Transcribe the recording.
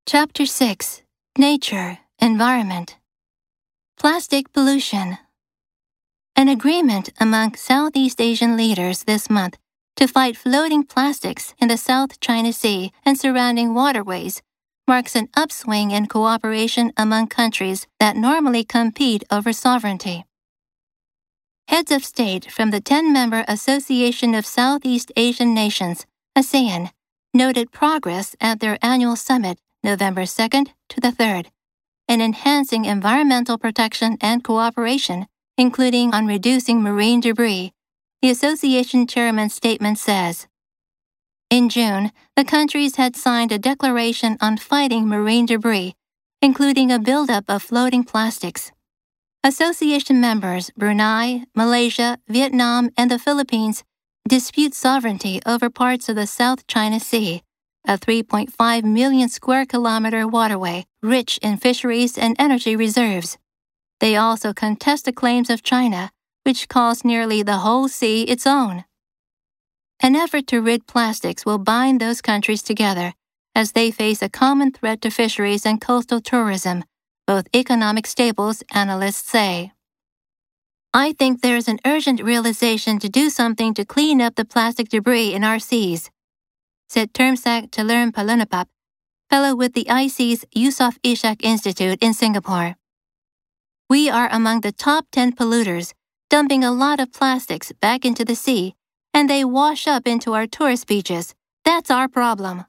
Chapter 6. Nature, Environment. Plastic Pollution. An agreement among Southeast Asian leaders this month to fight floating plastics in the South China Sea and surrounding waterways marks an upswing in cooperation among countries that normally compete over sovereignty. Heads of state from the 10-member Association of Southeast Asian Nations, ASEAN, noted progress at their annual summit November 2nd to the 3rd, in enhancing environmental protection and cooperation, including on reducing marine debris, the association chairman's statement says. In June, the countries had signed a declaration on fighting marine debris, including a buildup of floating plastics. Association members Brunei, Malaysia, Vietnam, and the Philippines dispute sovereignty over parts of the South China Sea, a 3.5 million square kilometer waterway rich in fisheries and energy reserves. They also contest the claims of China, which calls nearly the whole sea its own. An effort to rid plastics will bind those countries together as they face a common threat to fisheries and coastal tourism, both economic staples, analysts say. I think there is an urgent realization to do something to clean up the plastic debris in our seas, said Termsak Chalermpalunapap, fellow with the IC's Yusof Ishak Institute in Singapore. We are among the top 10 polluters, dumping a lot of plastics back into the sea, and they wash up into our tourist beaches. That's our problem.